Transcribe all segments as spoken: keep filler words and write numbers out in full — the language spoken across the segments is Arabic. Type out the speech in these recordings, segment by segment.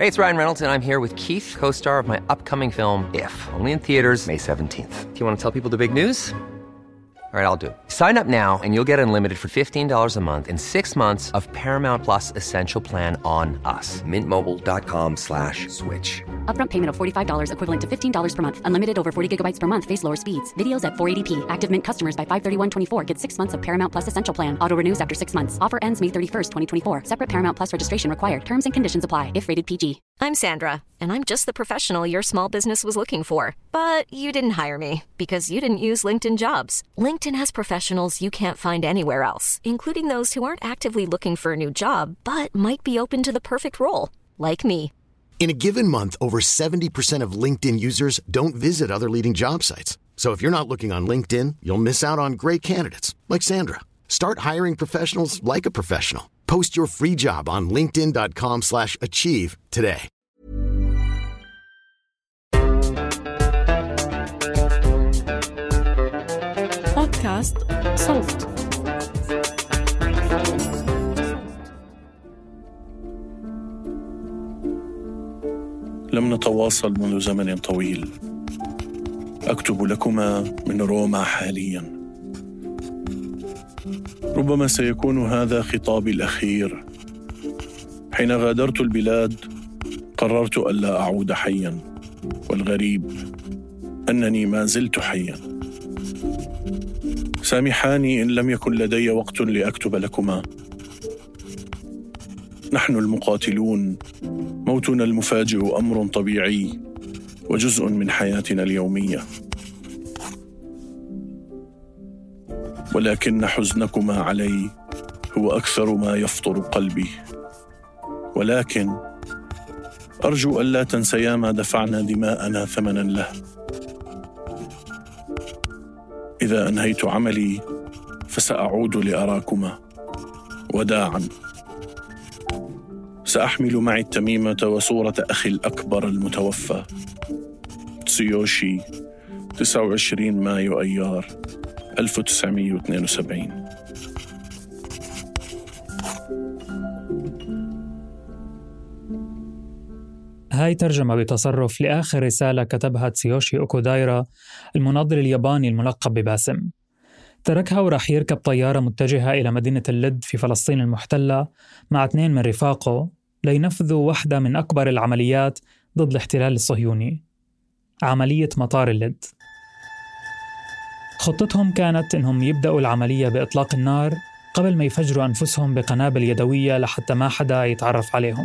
Hey, it's Ryan Reynolds, and I'm here with Keith, co-star of my upcoming film, If, only in theaters May seventeenth. Do you want to tell people the big news? All right, I'll do it. Sign up now and you'll get unlimited for fifteen dollars a month and six months of Paramount Plus Essential Plan on us. Mint Mobile dot com slash switch. Upfront payment of forty-five dollars equivalent to fifteen dollars per month. Unlimited over forty gigabytes per month. Face lower speeds. Videos at four eighty p. Active Mint customers by five thirty-one twenty-four get six months of Paramount Plus Essential Plan. Auto renews after six months. Offer ends May thirty-first, twenty twenty-four. Separate Paramount Plus registration required. Terms and conditions apply if rated P G. I'm Sandra, and I'm just the professional your small business was looking for. But you didn't hire me because you didn't use LinkedIn Jobs. LinkedIn has professionals you can't find anywhere else, including those who aren't actively looking for a new job, but might be open to the perfect role, like me. In a given month, over seventy percent of LinkedIn users don't visit other leading job sites. So if you're not looking on LinkedIn, you'll miss out on great candidates like Sandra. Start hiring professionals like a professional. Post your free job on linkedin dot com slash achieve today. بودكاست صوت. لم نتواصل منذ زمن طويل. أكتب لكما من روما حالياً. ربما سيكون هذا خطابي الأخير. حين غادرت البلاد قررت ألا أعود حياً، والغريب أنني ما زلت حياً. سامحاني إن لم يكن لدي وقت لأكتب لكما. نحن المقاتلون موتنا المفاجئ أمر طبيعي وجزء من حياتنا اليومية، ولكن حزنكما علي هو أكثر ما يفطر قلبي. ولكن أرجو ألا تنسيا ما دفعنا دماءنا ثمنا له. إذا أنهيت عملي فسأعود لأراكما. وداعا. سأحمل معي التميمة وصورة أخي الأكبر المتوفى تسويوشي، تسعة وعشرين مايو أيار ألف وتسعمائة واثنين وسبعين. هاي ترجمة بتصرف لآخر رسالة كتبها تسويوشي أوكودايرا، المناضل الياباني الملقب بباسم. تركها وراح يركب طيارة متجهة إلى مدينة اللد في فلسطين المحتلة مع اثنين من رفاقه لينفذوا واحدة من أكبر العمليات ضد الاحتلال الصهيوني، عملية مطار اللد. خطتهم كانت إنهم يبدأوا العملية بإطلاق النار قبل ما يفجروا أنفسهم بقنابل يدوية لحتى ما حدا يتعرف عليهم.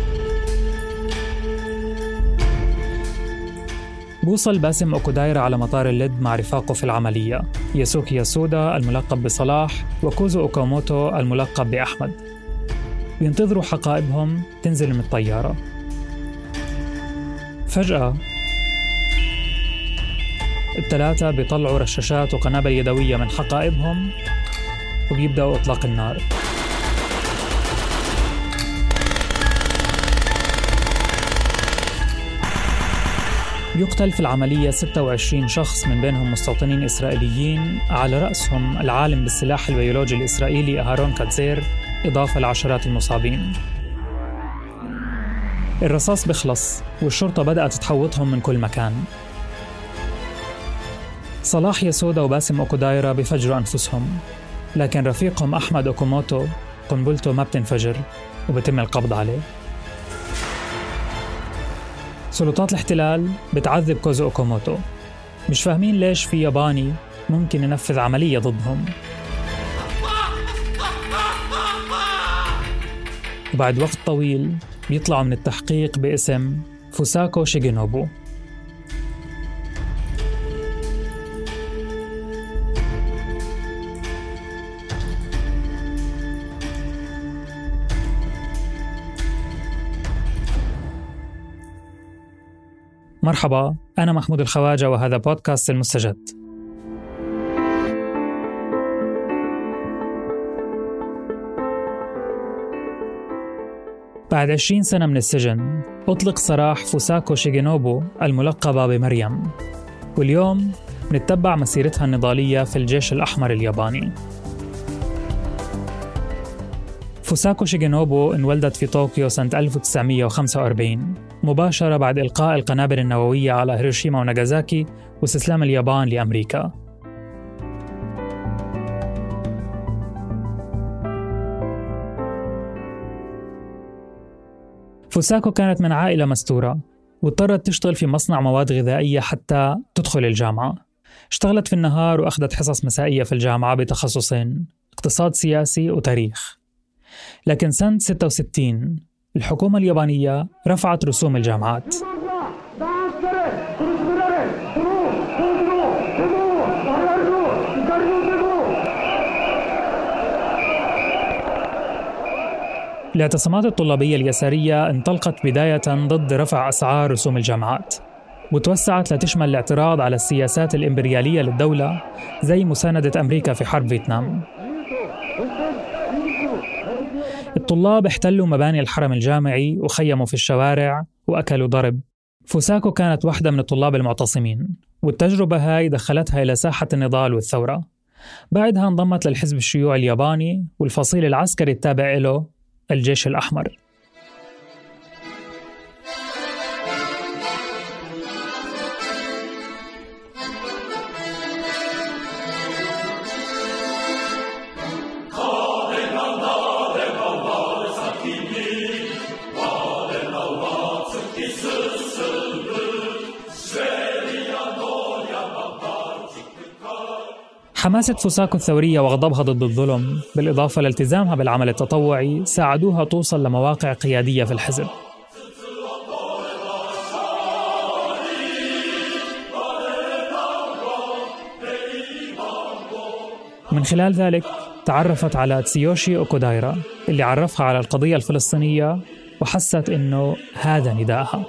بوصل باسم أوكودايرا على مطار اللد مع رفاقه في العملية، ياسوكي ياسودا الملقب بصلاح وكوزو أوكاموتو الملقب بأحمد. بينتظروا حقائبهم تنزل من الطيارة. فجأة الثلاثة بيطلعوا رشاشات وقنابل يدوية من حقائبهم وبيبدأوا إطلاق النار. يقتل في العملية ستة وعشرين شخص، من بينهم مستوطنين إسرائيليين على رأسهم العالم بالسلاح البيولوجي الإسرائيلي أهارون كاتزير، إضافة لعشرات المصابين. الرصاص بخلص والشرطة بدأت تحوطهم من كل مكان. صلاح ياسودا وباسم أوكودايرا بفجروا أنفسهم، لكن رفيقهم أحمد أوكاموتو قنبلته ما بتنفجر وبتم القبض عليه. سلطات الاحتلال بتعذب كوزو أوكاموتو، مش فاهمين ليش في ياباني ممكن ينفذ عملية ضدهم. وبعد وقت طويل بيطلعوا من التحقيق باسم فوساكو شيغينوبو. مرحبا، أنا محمود الخواجة وهذا بودكاست المستجد. بعد عشرين سنة من السجن أطلق سراح فوساكو شيغينوبو الملقبة بمريم، واليوم نتبع مسيرتها النضالية في الجيش الأحمر الياباني. فوساكو شيغينوبو انولدت في طوكيو سنة ألف وتسعمائة وخمسة وأربعين مباشرة بعد إلقاء القنابل النووية على هيروشيما وناغازاكي واستسلام اليابان لأمريكا. فوساكو كانت من عائلة مستورة واضطرت تشتغل في مصنع مواد غذائية حتى تدخل الجامعة. اشتغلت في النهار وأخذت حصص مسائية في الجامعة بتخصصين اقتصاد سياسي وتاريخ. لكن سنة ستة وستين الحكومة اليابانية رفعت رسوم الجامعات. الاعتصامات الطلابية اليسارية انطلقت بداية ضد رفع أسعار رسوم الجامعات، وتوسعت لتشمل الاعتراض على السياسات الإمبريالية للدولة زي مساندة أمريكا في حرب فيتنام. الطلاب احتلوا مباني الحرم الجامعي وخيموا في الشوارع وأكلوا ضرب. فوساكو كانت واحدة من الطلاب المعتصمين، والتجربة هاي دخلتها إلى ساحة النضال والثورة. بعدها انضمت للحزب الشيوعي الياباني والفصيل العسكري التابع له الجيش الأحمر. حماسة فوساكو الثورية وغضبها ضد الظلم بالإضافة لالتزامها بالعمل التطوعي ساعدوها توصل لمواقع قيادية في الحزب. من خلال ذلك تعرفت على تسيوشي أوكودايرا اللي عرفها على القضية الفلسطينية وحست إنه هذا نداءها.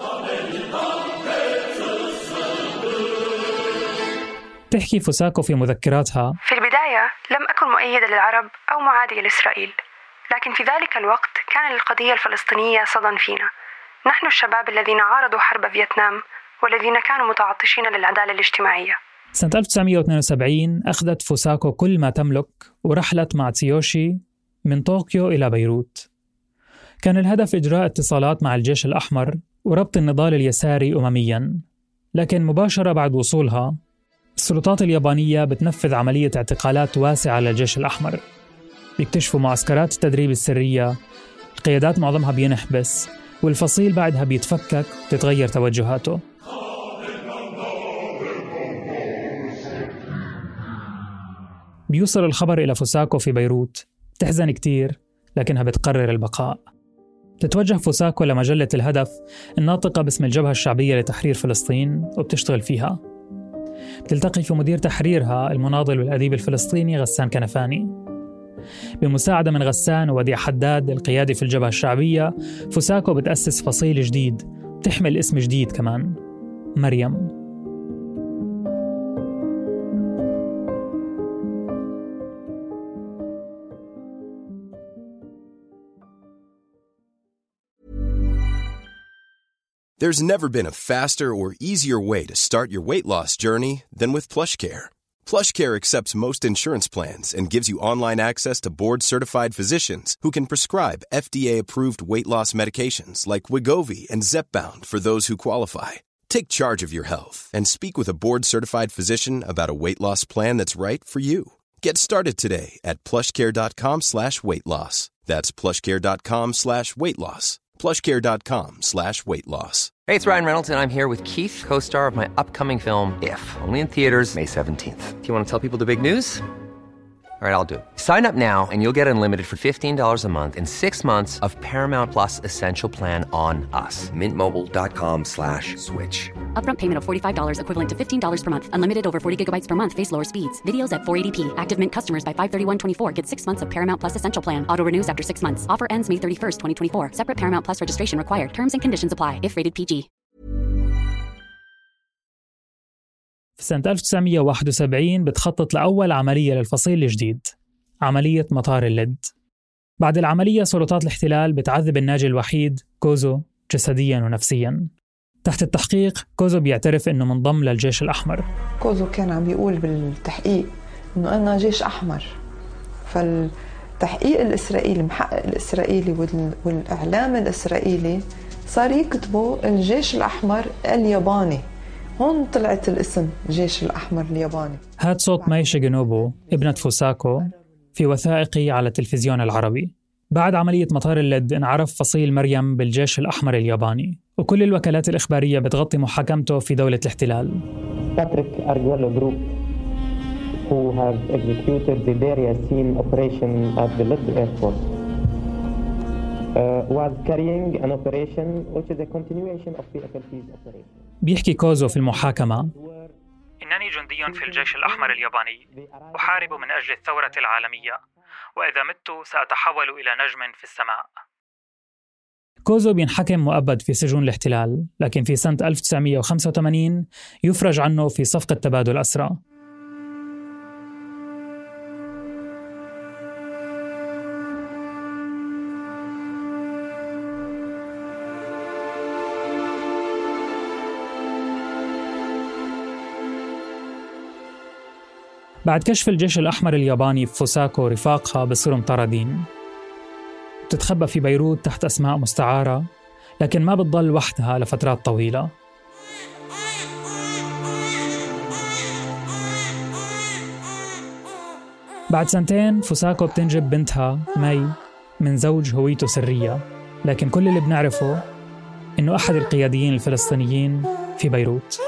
تحكي فوساكو في مذكراتها: في البداية لم أكن مؤيدة للعرب أو معادية لإسرائيل، لكن في ذلك الوقت كان للقضية الفلسطينية صدى فينا. نحن الشباب الذين عارضوا حرب فيتنام والذين كانوا متعطشين للعدالة الاجتماعية. سنة ألف وتسعمائة واثنين وسبعين أخذت فوساكو كل ما تملك ورحلت مع تسيوشي من طوكيو إلى بيروت. كان الهدف إجراء اتصالات مع الجيش الأحمر وربط النضال اليساري أممياً. لكن مباشرة بعد وصولها السلطات اليابانية بتنفذ عملية اعتقالات واسعة للجيش الأحمر. بيكتشفوا معسكرات التدريب السرية، القيادات معظمها بينحبس، والفصيل بعدها بيتفكك وتتغير توجهاته. بيوصل الخبر إلى فوساكو في بيروت، تحزن كتير لكنها بتقرر البقاء. تتوجه فوساكو لمجلة الهدف الناطقة باسم الجبهة الشعبية لتحرير فلسطين وبتشتغل فيها. بتلتقي في مدير تحريرها المناضل والأديب الفلسطيني غسان كنفاني. بمساعدة من غسان ووديع حداد القيادي في الجبهة الشعبية، فوساكو بتأسس فصيل جديد بتحمل اسم جديد كمان، مريم. There's never been a faster or easier way to start your weight loss journey than with PlushCare. PlushCare accepts most insurance plans and gives you online access to board-certified physicians who can prescribe F D A-approved weight loss medications like Wegovy and Zepbound for those who qualify. Take charge of your health and speak with a board-certified physician about a weight loss plan that's right for you. Get started today at plushcare.com slash weight loss. That's plushcare.com slash weight loss. plushcare.com slash weight loss. Hey, it's Ryan Reynolds, and I'm here with Keith, co-star of my upcoming film, If, only in theaters May seventeenth. Do you want to tell people the big news? All right, I'll do it. Sign up now and you'll get unlimited for fifteen dollars a month and six months of Paramount Plus Essential Plan on us. Mintmobile.com slash switch. Upfront payment of forty-five dollars equivalent to fifteen dollars per month. Unlimited over forty gigabytes per month. Face lower speeds. Videos at four eighty p. Active Mint customers by five thirty-one twenty-four get six months of Paramount Plus Essential Plan. Auto renews after six months. Offer ends May thirty-first, twenty twenty-four. Separate Paramount Plus registration required. Terms and conditions apply if rated P G. في سنة ألف وتسعمائة وواحد وسبعين بتخطط لأول عملية للفصيل الجديد، عملية مطار اللد. بعد العملية سلطات الاحتلال بتعذب الناجي الوحيد كوزو جسدياً ونفسياً. تحت التحقيق كوزو بيعترف إنه منضم للجيش الأحمر. كوزو كان عم بيقول بالتحقيق إنه أنا جيش أحمر، فال التحقيق الإسرائيلي، المحقق الإسرائيلي والإعلام الإسرائيلي صار يكتبوا الجيش الأحمر الياباني. هون طلعت الاسم جيش الأحمر الياباني. هاد صوت ماي شيغينوبو ابنة فوساكو في وثائقي على التلفزيون العربي. بعد عملية مطار اللد انعرف فصيل مريم بالجيش الأحمر الياباني، وكل الوكالات الإخبارية بتغطي محاكمته في دولة الاحتلال. Patrick Arguello Group, who have executed the Beria scene operation at the Lod airport, uh, was carrying an operation which is a continuation of P F L P's operation. بيحكي كوزو في المحاكمة: إنني جندي في الجيش الأحمر الياباني، أحارب من أجل الثورة العالمية، وإذا مت سأتحول إلى نجم في السماء. كوزو بينحكم مؤبد في سجون الاحتلال، لكن في سنة ألف وتسعمية وخمسة وثمانين يفرج عنه في صفقة تبادل أسرى. بعد كشف الجيش الأحمر الياباني في فوساكو رفاقها بصيروا مطاردين. بتتخبى في بيروت تحت أسماء مستعارة، لكن ما بتضل وحدها لفترات طويلة. بعد سنتين فوساكو بتنجب بنتها ماي من زوج هويته سرية، لكن كل اللي بنعرفه إنه أحد القياديين الفلسطينيين في بيروت.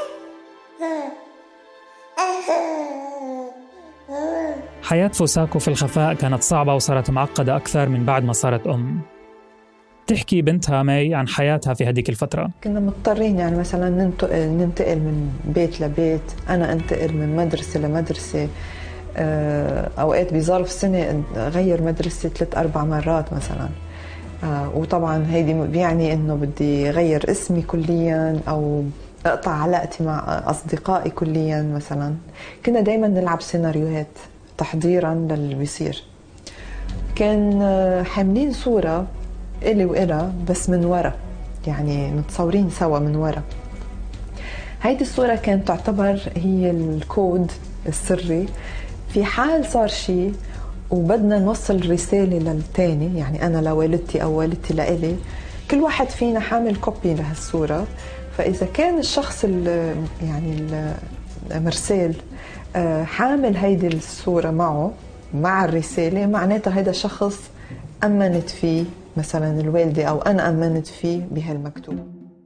حياة فوساكو في الخفاء كانت صعبة وصارت معقدة أكثر من بعد ما صارت أم. تحكي بنتها ماي عن حياتها في هذيك الفترة. كنا مضطرين يعني مثلا ننتقل, ننتقل من بيت لبيت، أنا أنتقل من مدرسة لمدرسة، أوقات بظرف سنة أغير مدرسة ثلاث أربع مرات مثلا. وطبعا هيدي بيعني إنه بدي غير اسمي كليا أو أقطع علاقتي مع أصدقائي كليا مثلا. كنا دايما نلعب سيناريوهات تحضيرا للي بيصير. كان حاملين صورة إلي وإلها بس من ورا، يعني متصورين سوا من ورا. هيدي الصورة كانت تعتبر هي الكود السري في حال صار شيء وبدنا نوصل رسالة للتاني، يعني أنا لوالدتي أو والدتي لإلي، كل واحد فينا حامل كوبي لهالصورة. فإذا كان الشخص ال يعني المرسال حامل هيدي الصورة معه مع الرسالة، معناتها هيدا شخص أمنت فيه مثلا الوالدة أو أنا أمنت فيه بهالمكتوب.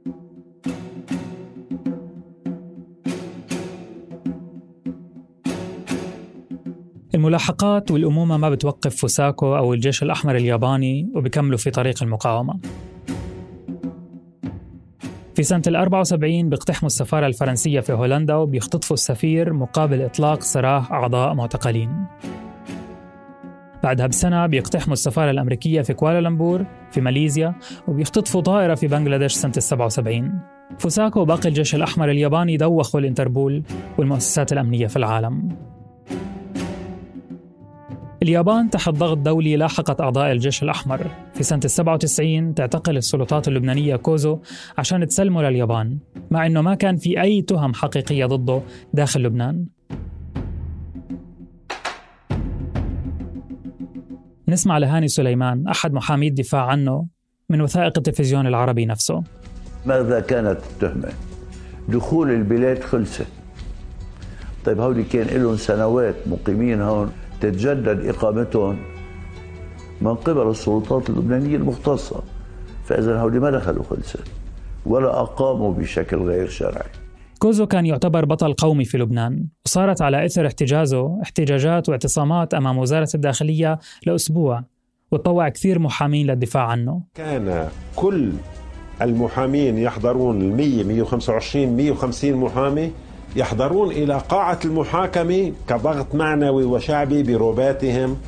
الملاحقات والأمومة ما بتوقف فوساكو أو الجيش الأحمر الياباني وبيكملوا في طريق المقاومة. في سنة الأربعة وسبعين بيقتحموا السفارة الفرنسية في هولندا وبيختطفوا السفير مقابل إطلاق سراح أعضاء معتقلين. بعدها بسنة بيقتحموا السفارة الأمريكية في كوالالمبور في ماليزيا وبيختطفوا طائرة في بنغلاديش سنة السبعة وسبعين. فوساكو وباقي الجيش الأحمر الياباني دوخوا الإنتربول والمؤسسات الأمنية في العالم. اليابان تحت ضغط دولي لاحقت أعضاء الجيش الأحمر. في سنة السبعة وتسعين تعتقل السلطات اللبنانية كوزو عشان تسلمه لليابان، مع أنه ما كان في أي تهم حقيقية ضده داخل لبنان. نسمع لهاني سليمان أحد محامي الدفاع عنه من وثائق التلفزيون العربي نفسه. ماذا كانت التهمة؟ دخول البلاد خلصت. طيب هؤلاء كان لهم سنوات مقيمين هون، تتجدد إقامتهم من قبل السلطات اللبنانية المختصة، فإذا هؤلاء ما دخلوا خلصت ولا أقاموا بشكل غير شرعي. كوزو كان يعتبر بطل قومي في لبنان، وصارت على إثر احتجازه احتجاجات واعتصامات أمام وزارة الداخلية لأسبوع، وتطوع كثير محامين للدفاع عنه. كان كل المحامين يحضرون المية مية وخمسة وعشرين مية وخمسين محامي يحضرون إلى قاعة المحاكمة كضغط معنوي وشعبي بروباتهم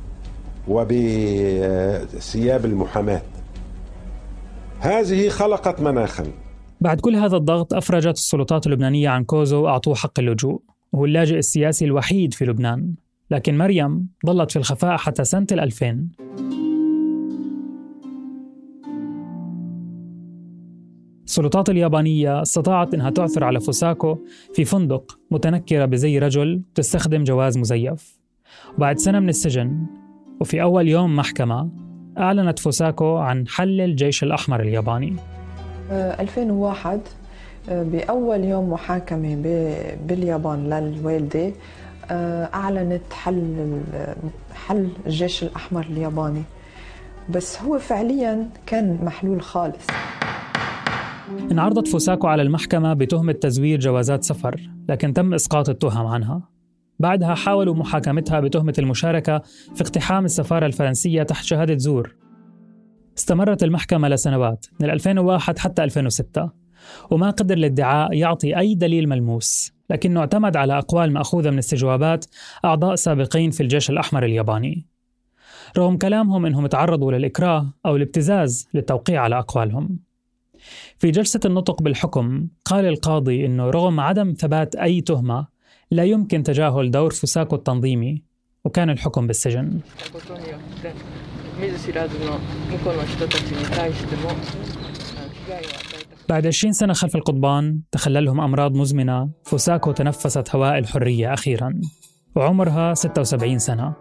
وبثياب المحاماة. هذه خلقت مناخا. بعد كل هذا الضغط أفرجت السلطات اللبنانية عن كوزو وأعطوه حق اللجوء، وهو اللاجئ السياسي الوحيد في لبنان. لكن مريم ظلت في الخفاء حتى سنة الألفين. السلطات اليابانية استطاعت أنها تعثر على فوساكو في فندق متنكرة بزي رجل تستخدم جواز مزيف. وبعد سنة من السجن وفي أول يوم محكمة أعلنت فوساكو عن حل الجيش الأحمر الياباني. ألفين وواحد بأول يوم محاكمة باليابان للوالدة أعلنت حل حل الجيش الأحمر الياباني، بس هو فعلياً كان محلول خالص. انعرضت فوساكو على المحكمة بتهمة تزوير جوازات سفر، لكن تم إسقاط التهم عنها. بعدها حاولوا محاكمتها بتهمة المشاركة في اقتحام السفارة الفرنسية تحت شهادة زور. استمرت المحكمة لسنوات من ألفين وواحد حتى ألفين وستة، وما قدر الادعاء يعطي أي دليل ملموس، لكنه اعتمد على أقوال مأخوذة من استجوابات أعضاء سابقين في الجيش الأحمر الياباني، رغم كلامهم أنهم تعرضوا للإكراه أو الابتزاز للتوقيع على أقوالهم. في جلسة النطق بالحكم قال القاضي أنه رغم عدم ثبات أي تهمة لا يمكن تجاهل دور فوساكو التنظيمي، وكان الحكم بالسجن. بعد عشرين سنة خلف القضبان تخللهم أمراض مزمنة، فوساكو تنفست هواء الحرية أخيراً وعمرها ستة وسبعين سنة.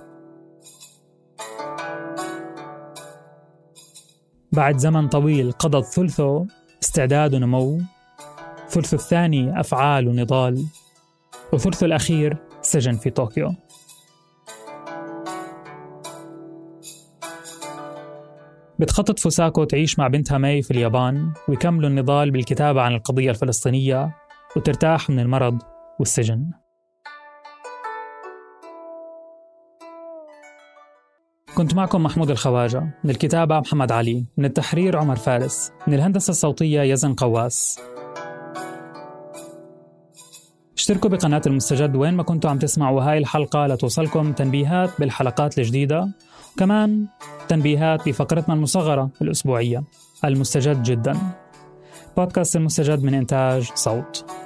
بعد زمن طويل قضت ثلثه استعداد ونمو، ثلثه الثاني أفعال ونضال، وثلثه الأخير سجن في طوكيو. بتخطط فوساكو تعيش مع بنتها ماي في اليابان ويكملوا النضال بالكتابة عن القضية الفلسطينية وترتاح من المرض والسجن. كنت معكم محمود الخواجة، من الكتابة محمد علي، من التحرير عمر فارس، من الهندسة الصوتية يزن قواس. اشتركوا بقناة المستجد وين ما كنتوا عم تسمعوا هاي الحلقة لتوصلكم تنبيهات بالحلقات الجديدة، وكمان تنبيهات بفقرتنا المصغرة الأسبوعية المستجد جدا. بودكاست المستجد من إنتاج صوت.